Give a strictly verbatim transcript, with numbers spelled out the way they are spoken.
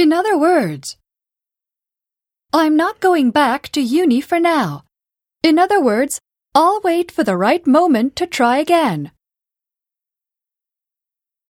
In other words, I'm not going back to uni for now. In other words, I'll wait for the right moment to try again.